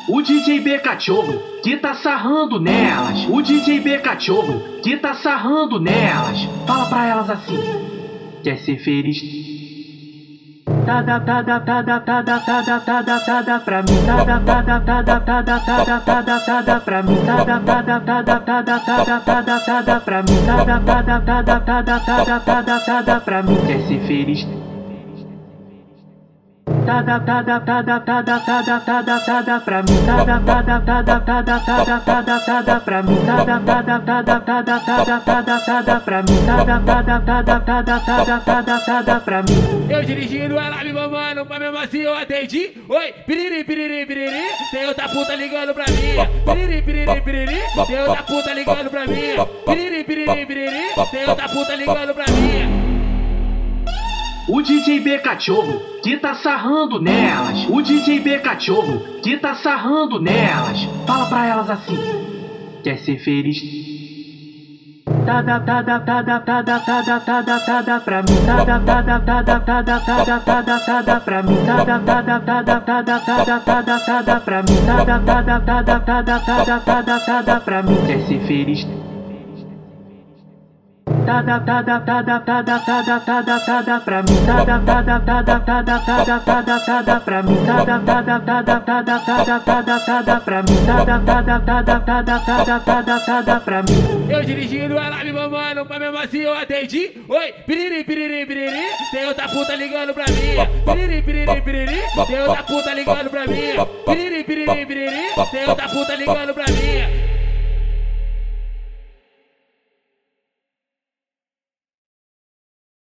O DJ B Cachorro que tá sarrando nelas. O DJ B Cachorro que tá sarrando nelas. Fala pra elas assim: quer ser feliz? Tá da pra mim. Tá da pra mim. Tá da pra mim. Tá da pra mim. Quer ser feliz? Tá da pra mim. Tá da pra mim. Tá da pra mim. Tá da pra mim. Eu dirigindo, ela me mamando, mas mesmo assim eu atendi. Oi, piriri, piriri, piriri, tem outra puta ligando pra mim. Piriri, piriri, piriri, tem outra puta ligando pra mim. Piriri, piriri, piriri, tem outra puta ligando pra mim. O DJ B Cachorro que tá sarrando nelas. O DJ B Cachorro que tá sarrando nelas. Fala pra elas assim: quer ser feliz? Tá da pra mim. Tá da pra mim. Tá da pra mim. Quer ser feliz? Tá da pra mim. Tá da pra mim. Tá da pra mim. Eu dirigindo, ela me mamando, mas mesmo assim eu atendi. Oi, piriri, piriri, piriri, tem outra puta ligando pra mim. Piriri, piriri, piriri, tem outra puta ligando pra mim. Piriri, piriri, piriri, tem outra puta ligando pra mim.